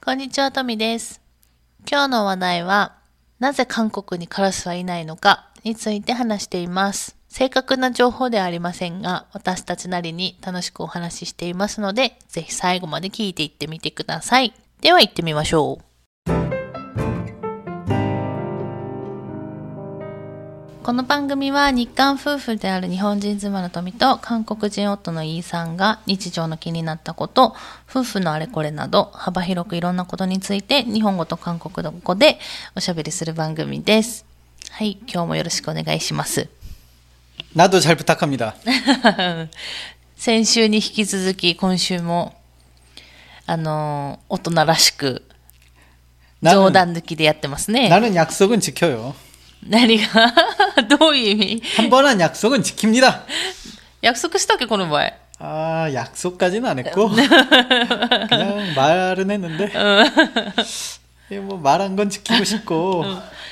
こんにちは、トミです。今日の話題は、なぜ韓国にカラスはいないのかについて話しています。正確な情報ではありませんが、私たちなりに楽しくお話ししていますので、ぜひ最後まで聞いていってみてください。では行ってみましょう。この番組は日韓夫婦である日本人妻の富と韓国人夫のイーさんが日常の気になったこと、夫婦のあれこれなど幅広くいろんなことについて日本語と韓国語でおしゃべりする番組です。はい、今日もよろしくお願いします。 나도 잘 부탁합니다. 先週に引き続き今週も大人らしく冗談抜きでやってますね。 나는 약속은 지켜요. 何がどういう意味？ 한 번 한 약속은 지킵니다. 約束したっけこの前。 아, 약속까지는 안 했고 그냥 말은 했는데 뭐 말한 건 지키고 싶고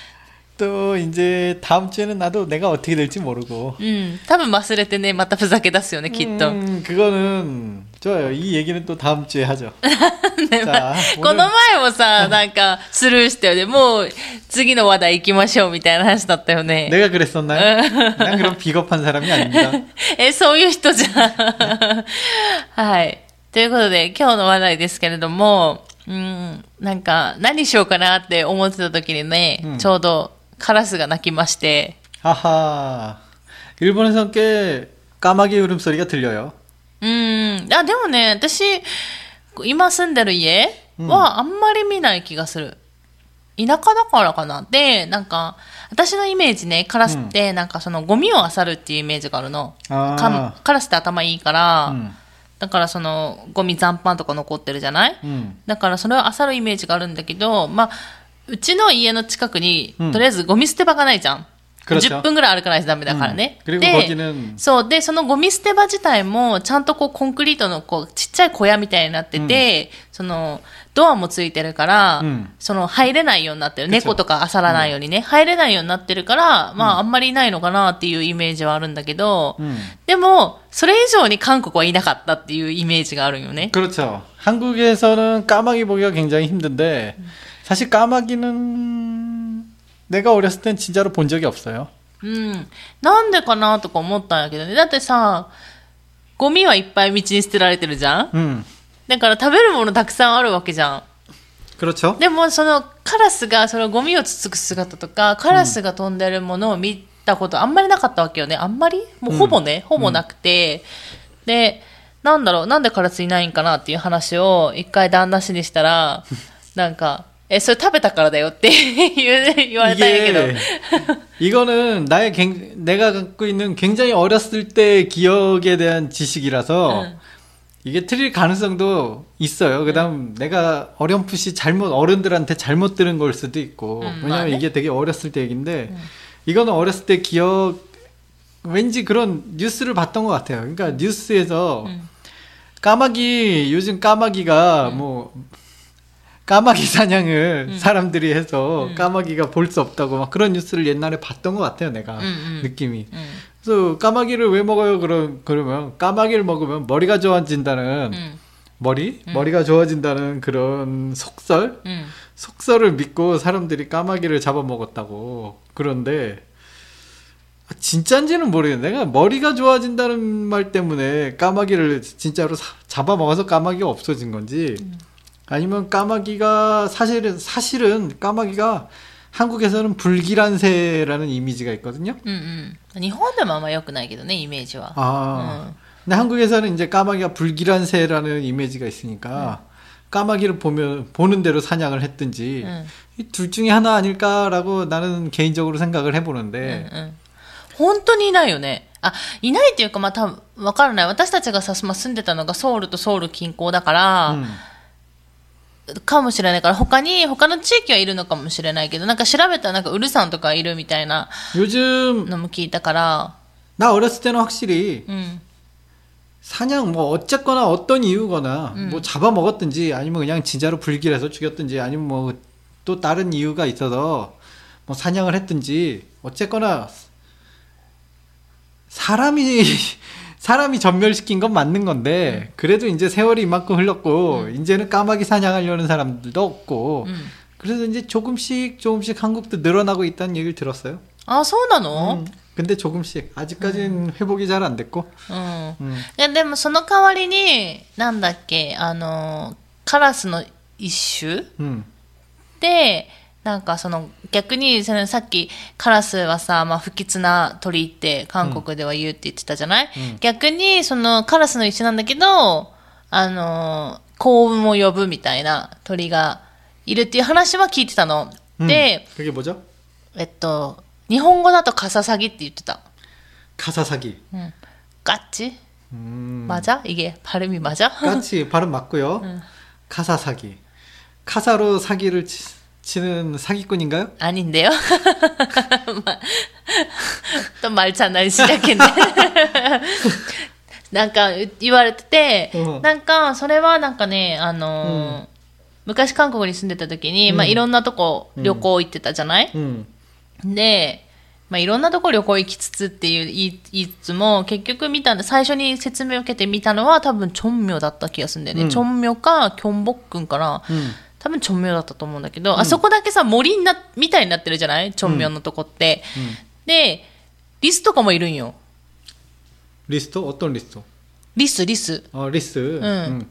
또 이제 다음 주에는 나도 내가 어떻게 될지 모르고 多分忘れてね、またふざけ出すよね、きっと。 그거는 좋아요. 이 얘기는 또 다음 주에 하죠. ね 자, この前もさ、なんかスルーしたよね。もう次の話題行きましょうみたいな話だったよね。 내가 그랬었나요? 난 그런 비겁한 사람이 아닙니다. そういう人じゃん。はい。ということで、今日の話題ですけれども、なんか何しようかなって思ってた時にね、ちょうどカラスが鳴きまして。 아하. 일본에서 꽤 까마귀 울음소리가 들려요. でもね、私、今住んでる家はあんまり見ない気がする。田舎だからかな。で、なんか、私のイメージね、カラスって、なんかそのゴミを漁るっていうイメージがあるの。カラスって頭いいから、だからそのゴミ残飯とか残ってるじゃない、だからそれを漁るイメージがあるんだけど、まあ、うちの家の近くに、とりあえずゴミ捨て場がないじゃん。10分ぐらい歩かないとダメだからね。で、そう。で、そのゴミ捨て場自体も、ちゃんとこうコンクリートのこうちっちゃい小屋みたいになってて、その、ドアもついてるから、その入れないようになってる。猫とか漁らないようにね、入れないようになってるから、まああんまりいないのかなっていうイメージはあるんだけど、でも、それ以上に韓国はいなかったっていうイメージがあるよね。 그렇죠. 한국에서는 까마귀 보기가 굉장히 힘든데, 사실 까마귀는 내가 어렸을 땐 진짜로 본 적이 없어요. なんでかなとか思ったんやけどね。だってさ、ゴミはいっぱい道に捨てられてるじゃん、だから食べるものたくさんあるわけじゃん。 그렇죠. でもそのカラスがそのゴミをつつく姿とか、カラスが飛んでるものを見たことあんまりなかったわけよね。あんまりもうほぼね、ほぼなくて。で、なんだろう、なんでカラスいないんかなっていう話を一回旦那氏にしたら、なんか、それ食べたからだよって言われたんやけど。 이거는 내가 갖고 있는 굉장히 어렸을 때 기억에 대한 지식이라서 이게 틀릴 가능성도 있어요. 그다음 내가 어렴풋이 어른들한테 잘못 들은 걸 수도 있고. 왜냐면 이게 되게 어렸을 때 얘기인데 이거는 어렸을 때 기억, 왠지 그런 뉴스를 봤던 것 같아요. 그러니까 뉴스에서 까마귀, 요즘 까마귀가 뭐 까마귀 사냥을 사람들이 해서 까마귀가 볼 수 없다고 막 그런 뉴스를 옛날에 봤던 것 같아요, 내가. 느낌이. 그래서 까마귀를 왜 먹어요? 그러면 까마귀를 먹으면 머리가 좋아진다는 머리가 좋아진다는 그런 속설을 믿고 사람들이 까마귀를 잡아먹었다고. 그런데 진짜인지는 모르겠는데 내가 머리가 좋아진다는 말 때문에 까마귀를 진짜로 잡아먹어서 까마귀가 없어진 건지 아니면 까마귀가 사실은 까마귀가 한국에서는 불길한 새라는 이미지가 있거든요. 日本でもあんま良くないけどね、イメージは。 근데 한국에서는 이제 까마귀가 불길한 새라는 이미지가 있으니까 까마귀를 보는 대로 사냥을 했든지 이 둘 중에 하나 아닐까라고 나는 개인적으로 생각을 해보는데 本当にいないよね。いないっていうか、まあ多分わからない。私たちがさ、住んでたのがソウルとソウル近郊だから、かもしれないから、他の地域はいるのかもしれないけど、なんか調べたらなんかウルサンとかいるみたいなのも聞いたから。 나 어렸을 때는 확실히 사냥 뭐 어쨌거나 어떤 이유거나 뭐 잡아먹었든지 아니면 그냥 진짜로 불길해서 죽였든지 아니면 뭐 또 다른 이유가 있어서 뭐 사냥을 했든지 어쨌거나 사람이 사람이 전멸시킨 건 맞는 건데 그래도 이제 세월이 이만큼 흘렀고 이제는 까마귀 사냥하려는 사람들도 없고 그래서 이제 조금씩 한국도 늘어나고 있다는 얘기를 들었어요. あ、そうなの？ 근데 조금씩 아직까지는 회복이 잘 안 됐고. いや、でもその代わりに、なんだっけ、カラスの一種 で、なんかその逆にそのさっきカラスはさ、まあ、不吉な鳥って韓国では言うって言ってたじゃない、逆にそのカラスの一種なんだけど、幸運を呼ぶみたいな鳥がいるっていう話は聞いてたの。で、 그게 뭐죠? 日本語だとカササギって言ってた。 카사사기. 까치? 맞아? 이게 발음이 맞아? 까치 발음 맞고요. 카사사기. 카사로 사기를 치는 사기꾼인가요? 아닌데요? 또 말 잘 날 시작했네. なんか言われてて、なんかそれはなんかね、昔韓国に住んでた時に、まあいろんなとこ旅行行ってたじゃない、で、まあいろんなとこ旅行行きつつっていう言いつつも、結局見たんで、最初に説明を受けてみたのは多分チョンミョだった気がするんだよね。チョンミョかキョンボックンかな。多分チョンミョだったと思うんだけど、あそこだけさ、森みたいになってるじゃないチョンミョのとこって。で、リスとかもいるんよ。 리스트? 어떤 리스트? リス。 리스.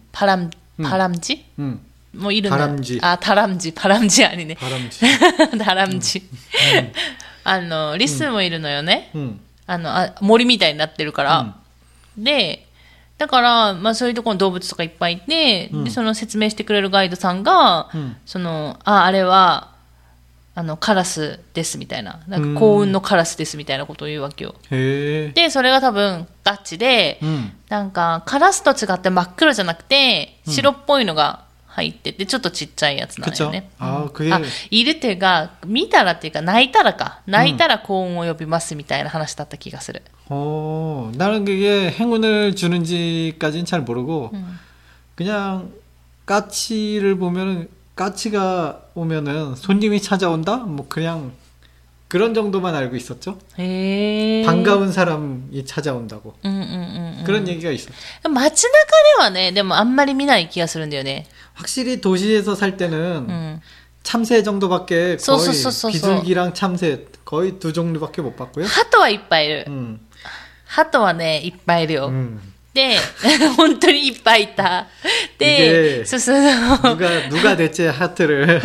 바람쥐? 뭐 이런. 다람쥐. 아, 바람쥐 아니네. 바람쥐. 다람쥐. リスもいるのよね。森みたいになってるから。で、だから、まあそういうところの動物とかいっぱいいて、で、その説明してくれるガイドさんが、あれは、カラスですみたいな。なんか幸運のカラスですみたいなことを言うわけよ。で、それが多分ガチで、なんかカラスと違って真っ黒じゃなくて、白っぽいのが入ってて、ちょっとちっちゃいやつなんよね。いるっていうか、見たらっていうか、泣いたら幸運を呼びますみたいな話だった気がする。 나는 그게 행운을 주는지까지는 잘 모르고, 그냥 까치를 보면은 까치가 오면은 손님이 찾아온다? 뭐 그냥 그런 정도만 알고 있었죠. 반가운 사람이 찾아온다고. 그런 얘기가 있었죠. 街中ではね、でもあんまり見ない気がするんだよね. 확실히 도시에서 살 때는 참새 정도밖에 거의 비둘기랑 참새 거의 두 종류밖에 못 봤고요. 하토はいっぱいいる. 하토はね、いっぱいいるよ. で、本当にいっぱいいた。で、 누가 대체 하트를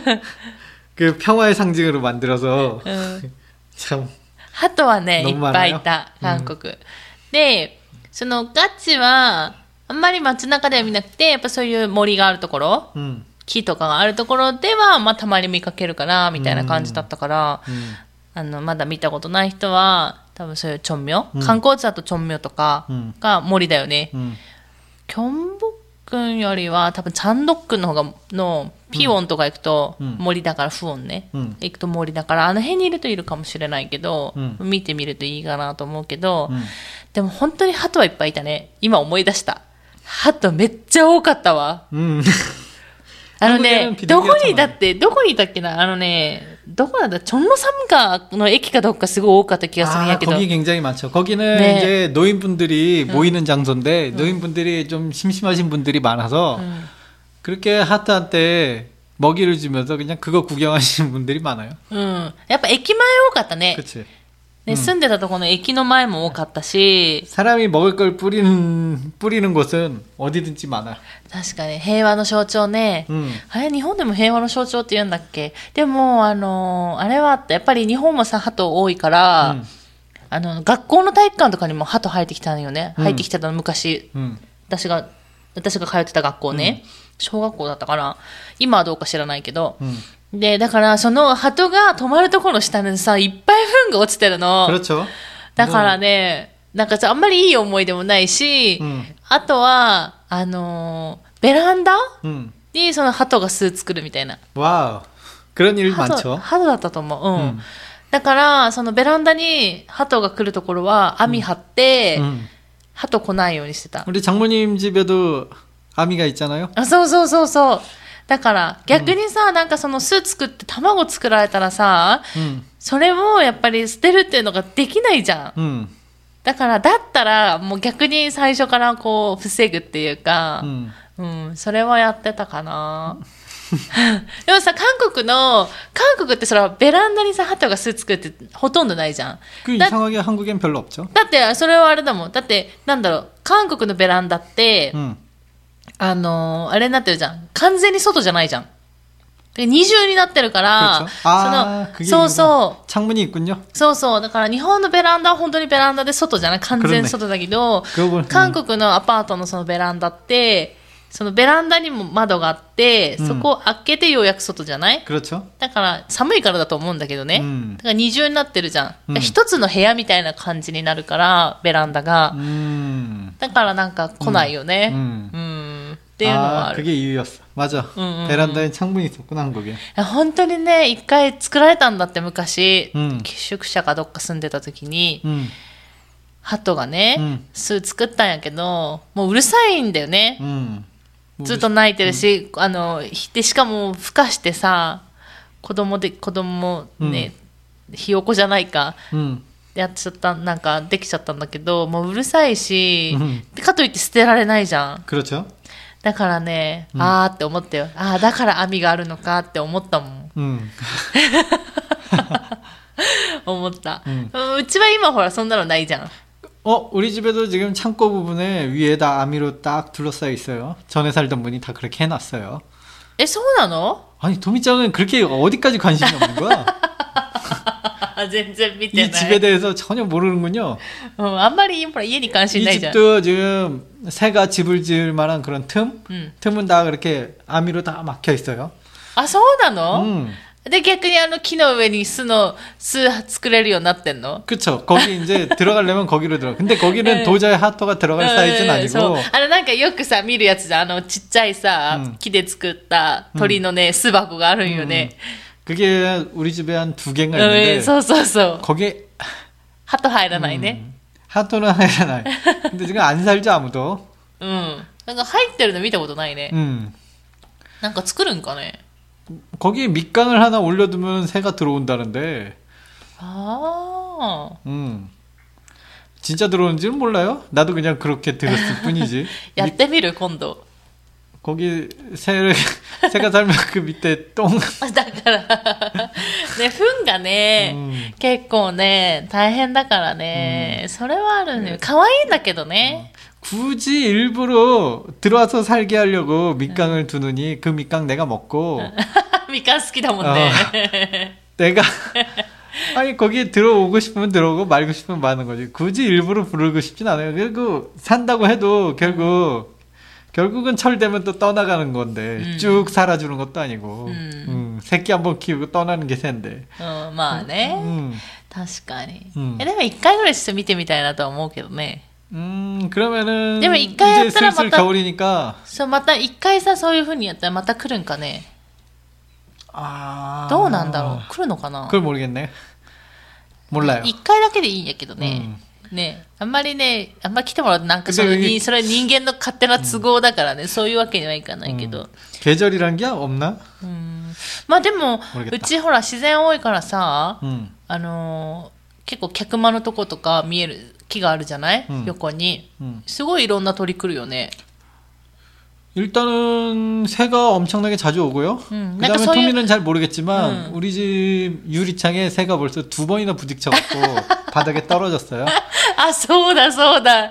그 평화의 상징으로 만들어서 참. ハトはね、いっぱいいた、韓国。で、そのガチは、あんまり街中では見なくて、やっぱそういう森があるところ、木とかがあるところでは、まあたまに見かけるかな、みたいな感じだったから、まだ見たことない人は、多分そういうチョンミョ、観光地だとチョンミョとかが森だよね。キョンボックンよりは多分チャンドックンの方がのピオンとか行くと森だからフオンね、行くと森だからあの辺にいるといるかもしれないけど、見てみるといいかなと思うけど、でも本当にハトはいっぱいいたね。今思い出した。ハトめっちゃ多かったわ。どこにいたっけなどこなんだチョンロサムガの駅かどっかすごい多かった気がするんやけど. 거기 굉장히 많죠. 거기는 네. 이제 노인분들이 모이는 장소인데 노인분들이 좀 심심하신 분들이 많아서 그렇게 하트한테 먹이를 주면서 그냥 그거 구경하시는 분들이 많아요. やっぱ駅前多かったね. 그치. ね、住んでたところの駅の前も多かったし 사람이 먹을 걸 뿌리는 곳은 어디든지 많아. 確かに平和の象徴ね、あれ日本でも平和の象徴って言うんだっけ。でもあれはやっぱり日本もさ鳩多いから、学校の体育館とかにも鳩入ってきたのよね、入ってきてたの昔、私が通ってた学校ね、小学校だったかな、今はどうか知らないけど、で、だから、その、鳩が止まるところの下にさ、いっぱい糞が落ちてるの。だからね、なんかあんまりいい思い出もないし、あとは、ベランダにその鳩が巣作るみたいな。 わー。그런 일 많죠。 鳩だったと思う。だから、そのベランダに鳩が来るところは網張って、鳩来ないようにしてた。 우리 장모님 집에도 아미가 있잖아요. あ、そう。だから逆にさ、なんかその巣作って卵作られたらさ、それをやっぱり捨てるっていうのができないじゃん。 だから、だったら、もう逆に最初からこう、防ぐっていうか、それはやってたかな。でもさ、韓国ってそれはベランダにさ、鳩が巣作ってほとんどないじゃん。 이상하게 한국엔 별로 없죠. だって、それはあれだもん。だって、なんだろう、韓国のベランダって、あれになってるじゃん。完全に外じゃないじゃん。で二重になってるから、そうそう。 창문이 있군요. そうそう。だから日本のベランダは本当にベランダで外じゃない。完全外だけど、韓国のアパートのそのベランダって、そのベランダにも窓があって、そこを開けてようやく外じゃない？だから寒いからだと思うんだけどね。だから二重になってるじゃん。一つの部屋みたいな感じになるから、ベランダが。だからなんか来ないよね。っていうのはある。 그게 이유였어. 맞아. 베란다에 창문이 있었구나, 한국에. 本当にね、一回作られたんだって昔、寄宿舎かどっか住んでた時に、鳩がね、巣作ったんやけど、もううるさいんだよね。ずっと泣いてるし、で、しかも、孵化してさ、子供ね、ひよこじゃないか、やっちゃった、なんか、できちゃったんだけど、もううるさいし、かといって捨てられないじゃん。だからね、あーって思ったよ。あー、だから網があるのかって思ったもん。思った。うちは今ほら、そんなのないじゃん。 우리 집에도 지금 창고 부분에 위에다 아미로 딱 둘러싸여 있어요. 전에 살던 분이 다 그렇게 해놨어요. そうなの? 아니, 도미짱은 그렇게 어디까지 관심이 없는 거야? 全然見てない. 이 집에 대해서 전혀 모르는군요. あんまり家に関心ないじゃん. 이 집도 지금 새가 집을 지을 만한 그런 틈은 다 그렇게 아미로 다 막혀 있어요. そうなの? で、逆に木の上に巣作れるようになってんの? 그쵸. 거기 이제 들어가려면 거기로 들어가. 근데 거기는 도저히 하토가 들어갈 사이즈는 아니고. なんかよくさ、見るやつじゃん。ちっちゃいさ、木で作った鳥のね、巣箱があるんよね. 그게 우리 집에 한 2개가 있는데. そうそうそう. 거기에 하토 入らないね. 하토는 入らない. 근데 지금 안 살죠, 아무도. なんか入ってるの見たことないね. なんか作るんかね? 거기에 밑강을 하나 올려두면 새가 들어온다는데. 진짜 들어오는지는 몰라요. 나도 그냥 그렇게 들었을 뿐이지. やってみる今度. 거기 새가 살면 그 밑에 똥. だからね、糞がね、結構ね、大変だからね。それはあるね。可愛いんだけどね. 굳이 일부러 들어와서 살게 하려고 밑강을 두느니 그 밑강 내가 먹고. 밑강 好きだもんね. 내가 아니 거기에 들어오고 싶으면 들어오고 말고 싶으면 마는 거지. 굳이 일부러 부르고 싶진 않아요. 그리고 산다고 해도 결국은 철되면 또 떠나가는 건데 쭉 살아주는 것도 아니고 새끼 한번 키우고 떠나는 게 새인데. まあね. 確かに. でも一回ぐらいして見てみたいなとは思うけどね. 그러면은 でも一回やったら 슬슬 겨울이니까. そう、また一回さ、そういう風にやったらまた来るんかね. どうなんだろう。来るのかな? 그걸 모르겠네. 몰라요. 一回だけでいいんやけどね. ね、あんまり来てもらうとなんかそれ人間の勝手な都合だからね、そういうわけにはいかないけど. 계절이란 게 없나? まあでもうちほら自然多いからさ、結構客間のとことか見える木があるじゃない、横に. すごいいろんな鳥来るよね. 일단은 새가 엄청나게 자주 오고요. 그다음에 토미는 잘 모르겠지만 우리 집 유리창에 새가 벌써 2번이나 부딪혀갖고 바닥에 떨어졌어요. そうだそうだ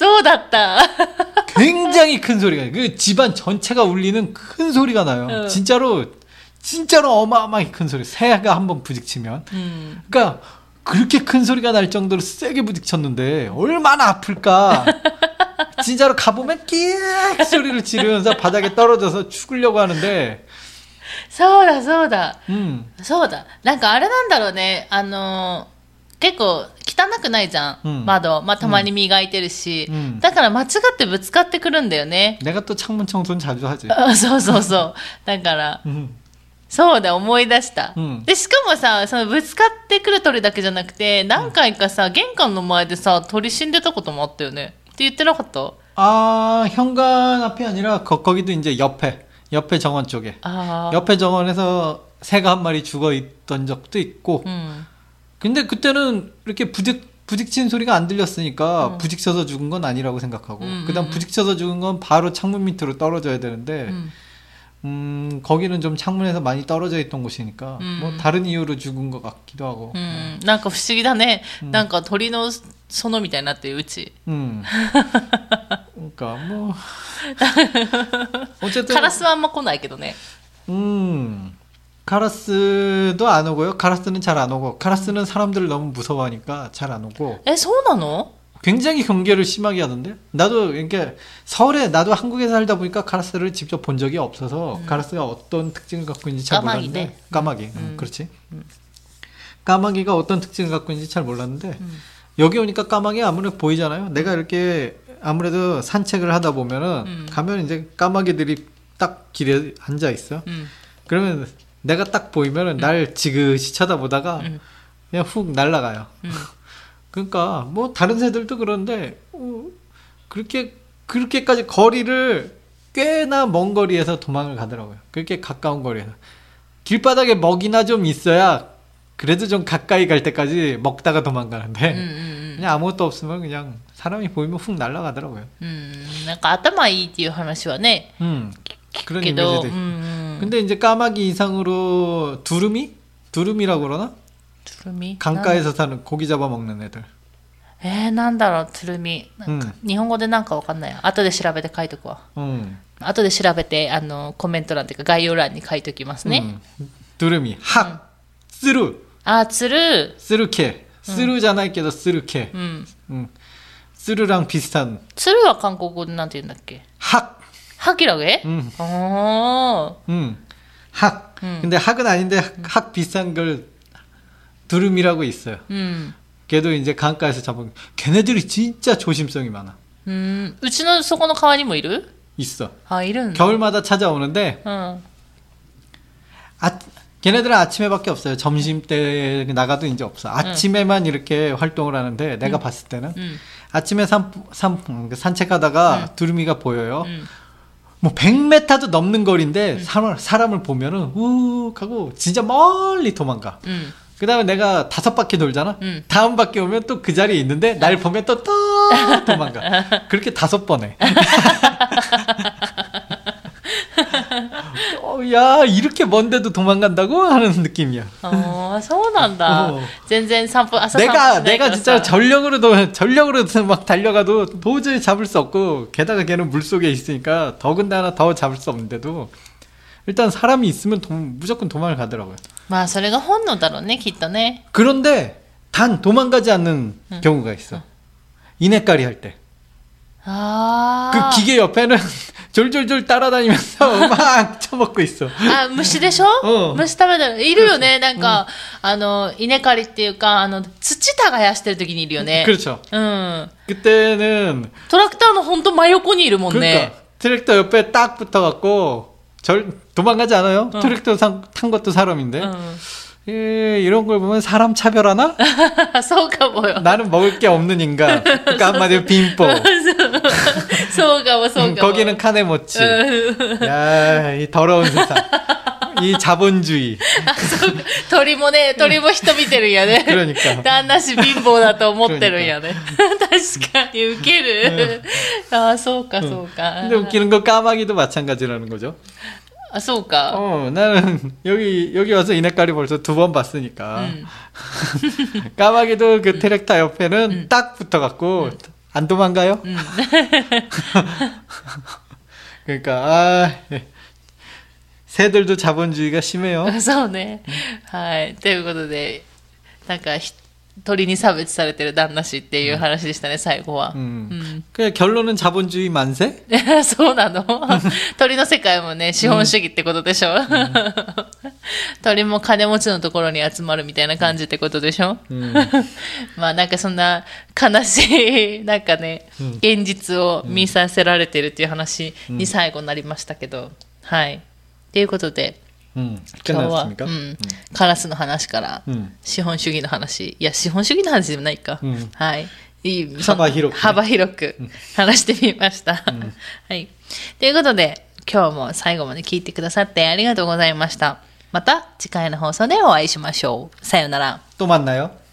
굉장히 큰 소리가 나요. 그 집안 전체가 울리는 큰 소리가 나요. 진짜로 어마어마하게 큰 소리. 새가 한번 부딪히면. 그러니까 그렇게 큰 소리가 날 정도로 세게 부딪혔는데 얼마나 아플까. 진짜로 가보면 끼익 소리를 지르면서 바닥에 떨어져서 죽으려고 하는데. そうだそうだ。なんかあれなんだろうね。結構汚くないじゃん、窓。まあたまに磨いてるし。だから間違ってぶつかってくるんだよね。 내가 또 창문 청소는 자주 하지. そう。だから。そうだ、思い出した。で、しかもさ、そのぶつかってくる鳥だけじゃなくて、何回かさ、玄関の前でさ、鳥死んでたこともあったよね。って言ってなかった? 현관 앞이 아니라 거기도 이제 옆에 정원 쪽에. 옆에 정원에서 새가 한 마리 죽어 있던 적도 있고. 근데 그때는 이렇게 부딪힌 소리가 안 들렸으니까 부딪혀서 죽은 건 아니라고 생각하고 그다음 부딪혀서 죽은 건 바로 창문 밑으로 떨어져야 되는데 거기는 좀 창문에서 많이 떨어져 있던 곳이니까 뭐 다른 이유로 죽은 것 같기도 하고 なんか不思議だね。なんか鳥の園みたいになってるうち。 그러니까 뭐 어쨌든 カラスはあんま来ないけどね。 카라스도 안 오고요. 카라스는 잘 안 오고 카라스는 사람들을 너무 무서워하니까 잘 안 오고 え、そうなの？ 굉장히 경계를 심하게 하던데. 나도 이렇게 서울에 나도 한국에 살다 보니까 카라스를 직접 본 적이 없어서 카라스가 어떤 특징을 갖고 있는지 잘 몰랐는데 까마귀. 그렇지. 까마귀가 어떤 특징을 갖고 있는지 잘 몰랐는데 여기 오니까 까마귀 아무래도 보이잖아요. 내가 이렇게 아무래도 산책을 하다 보면은 가면 이제 까마귀들이 딱 길에 앉아 있어. 그러면 내가 딱 보이면은 날 지그시 쳐다보다가 그냥 훅 날아가요. 그러니까 뭐 다른 새들도 그런데 그렇게까지 거리를 꽤나 먼 거리에서 도망을 가더라고요. 그렇게 가까운 거리에서 길바닥에 먹이나 좀 있어야 그래도 좀 가까이 갈 때까지 먹다가 도망가는데 그냥 아무것도 없으면 그냥 사람이 보이면 훅 날아가더라고요. なんか頭いいっていう話はね。 그런 けど、 이미지도 근데 이제 까마귀 이상으로 두루미라고 그러나? トゥルミ 강가에서 사는 고기 잡아먹는 애들. なんだろう、トゥルミ。なんか日本語でなんかわかんない。後で調べて書いとくわ。後で調べて、コメント欄っていうか概要欄に書いときますね。 두루미, 학, 쓰루. あ、つる。 쓰루케. 쓰루잖아요,けど 쓰루케. 쓰루랑 비슷한. つるは韓国語でなんて言うんだっけ？ 학. 학이라고へ? 학. 근데 학은 아닌데 학 비슷한 걸 두루미라고 있어요. 걔도 이제 강가에서 잡은 걔네들이 진짜 조심성이 많아. うちのそこの川にもいる? 있어. 아, 이런. 겨울마다 찾아오는데 걔네들은 아침에밖에 없어요. 점심 때 나가도 이제 없어. 아침에만 이렇게 활동을 하는데 내가 봤을 때는 아침에 산책하다가 두루미가 보여요. 뭐 100m도 넘는 거리인데 사람을 보면은 우욱 하고 진짜 멀리 도망가. 그 다음에 내가 5바퀴 돌잖아. 다음 바퀴 오면 또 그 자리에 있는데 날 보면 또 도망가. 그렇게 5번 해. 야, 이렇게 먼데도 도망간다고 하는 느낌이야. そうなんだ。全然散歩、朝散歩しないけど 내가 진짜 전력으로 막 달려가도 도저히 잡을 수 없고, 게다가 걔는 물속에 있으니까 더군다나 더 잡을 수 없는데도 일단 사람이 있으면 무조건 도망을 가더라고요. まあそれが本能だろうね、きっとね。 그런데 단 도망가지 않는 경우가 있어.稲刈り할 때. 그 기계 옆에는 졸졸졸 따라다니면서 막 처먹고 있어. あ、虫でしょ？虫食べてる。いるよね。なんか、稲刈りっていうか、土耕してる時にいるよね。 그렇죠. 그때는 トラクターのほんと真横にいるもんね。 그러니까 트랙터 옆에 딱 붙어갖고 도망가지 않아요? 트랙터 탄 것도 사람인데. 이런 걸 보면 사람 차별하나? そうかもよ。 나는 먹을 게 없는 인간. 그러니까 한마디로 빈뽀. そうかもそうかも。 거기는 카네모치. 야, 이 더러운 세상. 이 자본주의. 鳥も人見てるんやね。 그러니까. 旦那氏貧乏だと思ってるんやね。確かにウケる。あ、そうかそうか。 근데 웃기는 거 까마귀도 마찬가지라는 거죠. 아, そうか. 나는 여기 와서稲刈り 벌써 2번 봤으니까. 까마귀도 그 트랙터 옆에는 딱 붙어갖고 안 도망가요? 그러니까 새들도 자본주의가 심해요. そうね。はい。ということで、なんか鳥に差別されてる旦那氏っていう話でしたね、最後は。 그냥 결론은 자본주의 만세? そうなの？鳥の世界もね、資本主義ってことでしょ？鳥も金持ちのところに集まるみたいな感じってことでしょ？まあなんかそんな悲しい、なんかね、現実を見させられてるっていう話に最後になりましたけど、はい。ということで、今日は、カラスの話から、資本主義の話、いや、資本主義の話でもないか。はい。幅広く話してみました。はい。ということで、今日も最後まで聞いてくださってありがとうございました。また次回の放送でお会いしましょう。さようなら。 또 만나요?